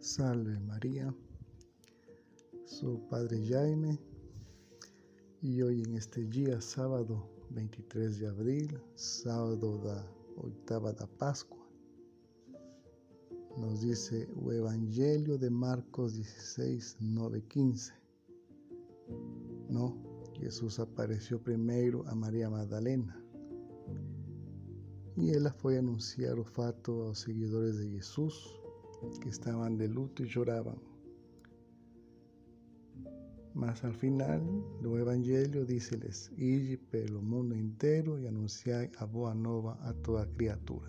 Salve María, su Padre Jaime, y hoy en este día, sábado 23 de abril, sábado da oitava da Páscoa, nos dice o Evangelio de Marcos 16, 9, 15. Jesús apareció primeiro a Maria Madalena e ela foi anunciar o fato aos seguidores de Jesus, que estaban de luto y lloraban. Mas al final do Evangelho dice-les: ide pelo mundo inteiro e anunciai a boa nova a toda criatura.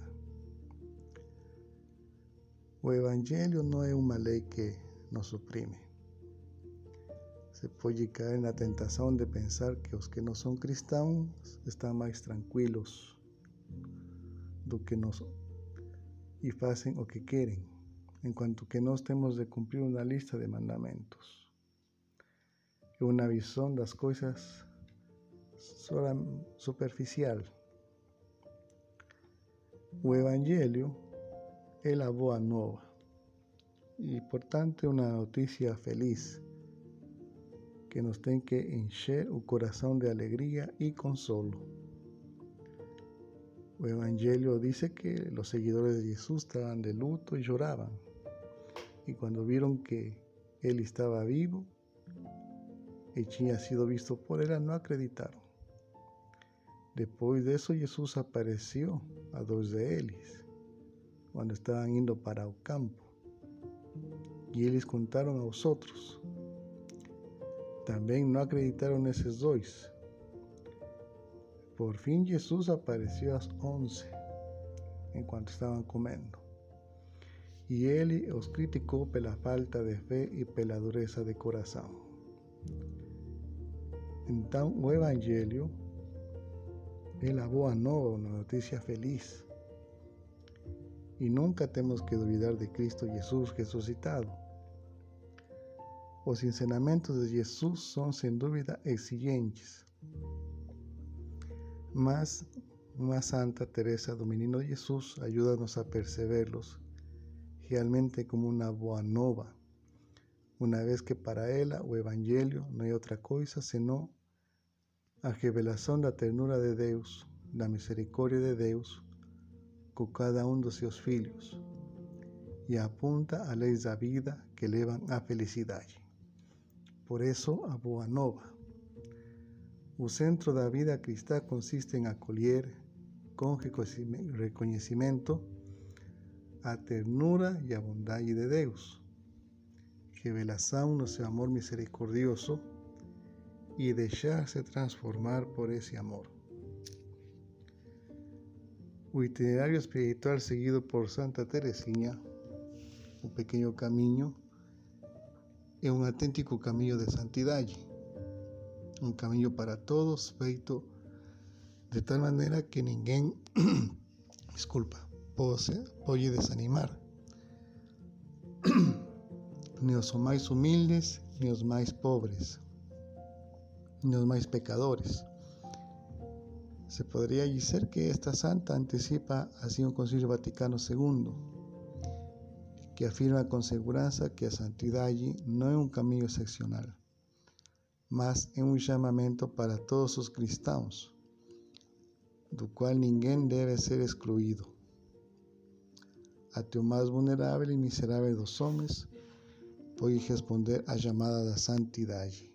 O Evangelho não é uma lei que nos oprime. Se pode cair na tentação de pensar que os que não são cristãos estão mais tranquilos do que nós e fazem o que querem, enquanto que nós temos de cumprir uma lista de mandamentos e uma visão das coisas superficial. O Evangelho é a boa nova e, portanto, é uma notícia feliz que nos tem que encher o coração de alegria e consolo. O Evangelio dice que los seguidores de Jesús estaban de luto y lloraban. Y cuando vieron que Él estaba vivo y tinha sido visto por ella, no acreditaron. Después de eso, Jesús apareció a dos de ellos cuando estaban indo para o campo. Y ellos contaron a los otros. También no acreditaron esos dos. Por fim, Jesus apareceu às 11, enquanto estavam comendo. E ele os criticou pela falta de fé e pela dureza de coração. Então, o Evangelho é a boa nova, uma notícia feliz. E nunca temos que duvidar de Cristo Jesus ressuscitado. Os ensinamentos de Jesus são, sem dúvida, exigentes. Mas uma Santa Teresa do Menino Jesus ajuda-nos a percebê-los realmente como uma boa nova, uma vez que para ela o Evangelho não é outra coisa senão a revelação da ternura de Deus, da misericórdia de Deus com cada dos seus filhos e apunta a leis da vida que levam à felicidade. Por isso, a boa nova. O centro da vida cristã consiste em acolher com reconhecimento a ternura e a bondade de Deus, revelação no seu amor misericordioso e deixar-se transformar por esse amor. O itinerário espiritual seguido por Santa Teresinha, o pequeno caminho, é um autêntico caminho de santidade. Um caminho para todos, feito de tal maneira que ninguém pode desanimar. Nem os mais humildes, nem os mais pobres, nem os mais pecadores. Se poderia dizer que esta santa antecipa assim o Concílio Vaticano II, que afirma com segurança que a santidade não é um caminho excepcional, mas é um chamamento para todos os cristãos, do qual ninguém deve ser excluído. Até o mais vulnerável e miserável dos homens pode responder à chamada da santidade.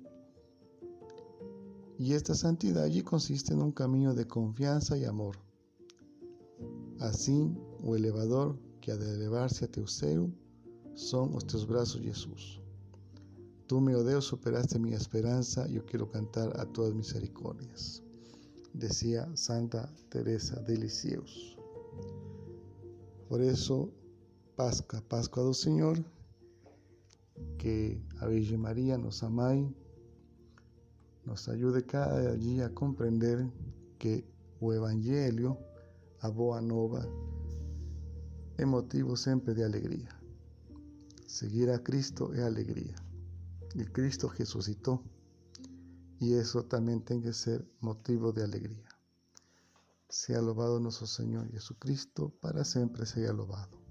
E esta santidade consiste num caminho de confiança e amor. Assim, o elevador que ha de elevar-se até o céu são os teus braços, Jesus. Tu, meu Deus, superaste minha esperança e eu quero cantar a tuas misericórdias, decía Santa Teresa de Lisieux. Por isso, Páscoa do Senhor, que a Virgem Maria, nossa Mãe, nos ajude cada dia a compreender que o Evangelho, a boa nova, é motivo sempre de alegria. Seguir a Cristo é alegria. E Cristo ressuscitou, e isso também tem que ser motivo de alegria. Sea louvado nosso Senhor Jesucristo, para sempre seja louvado.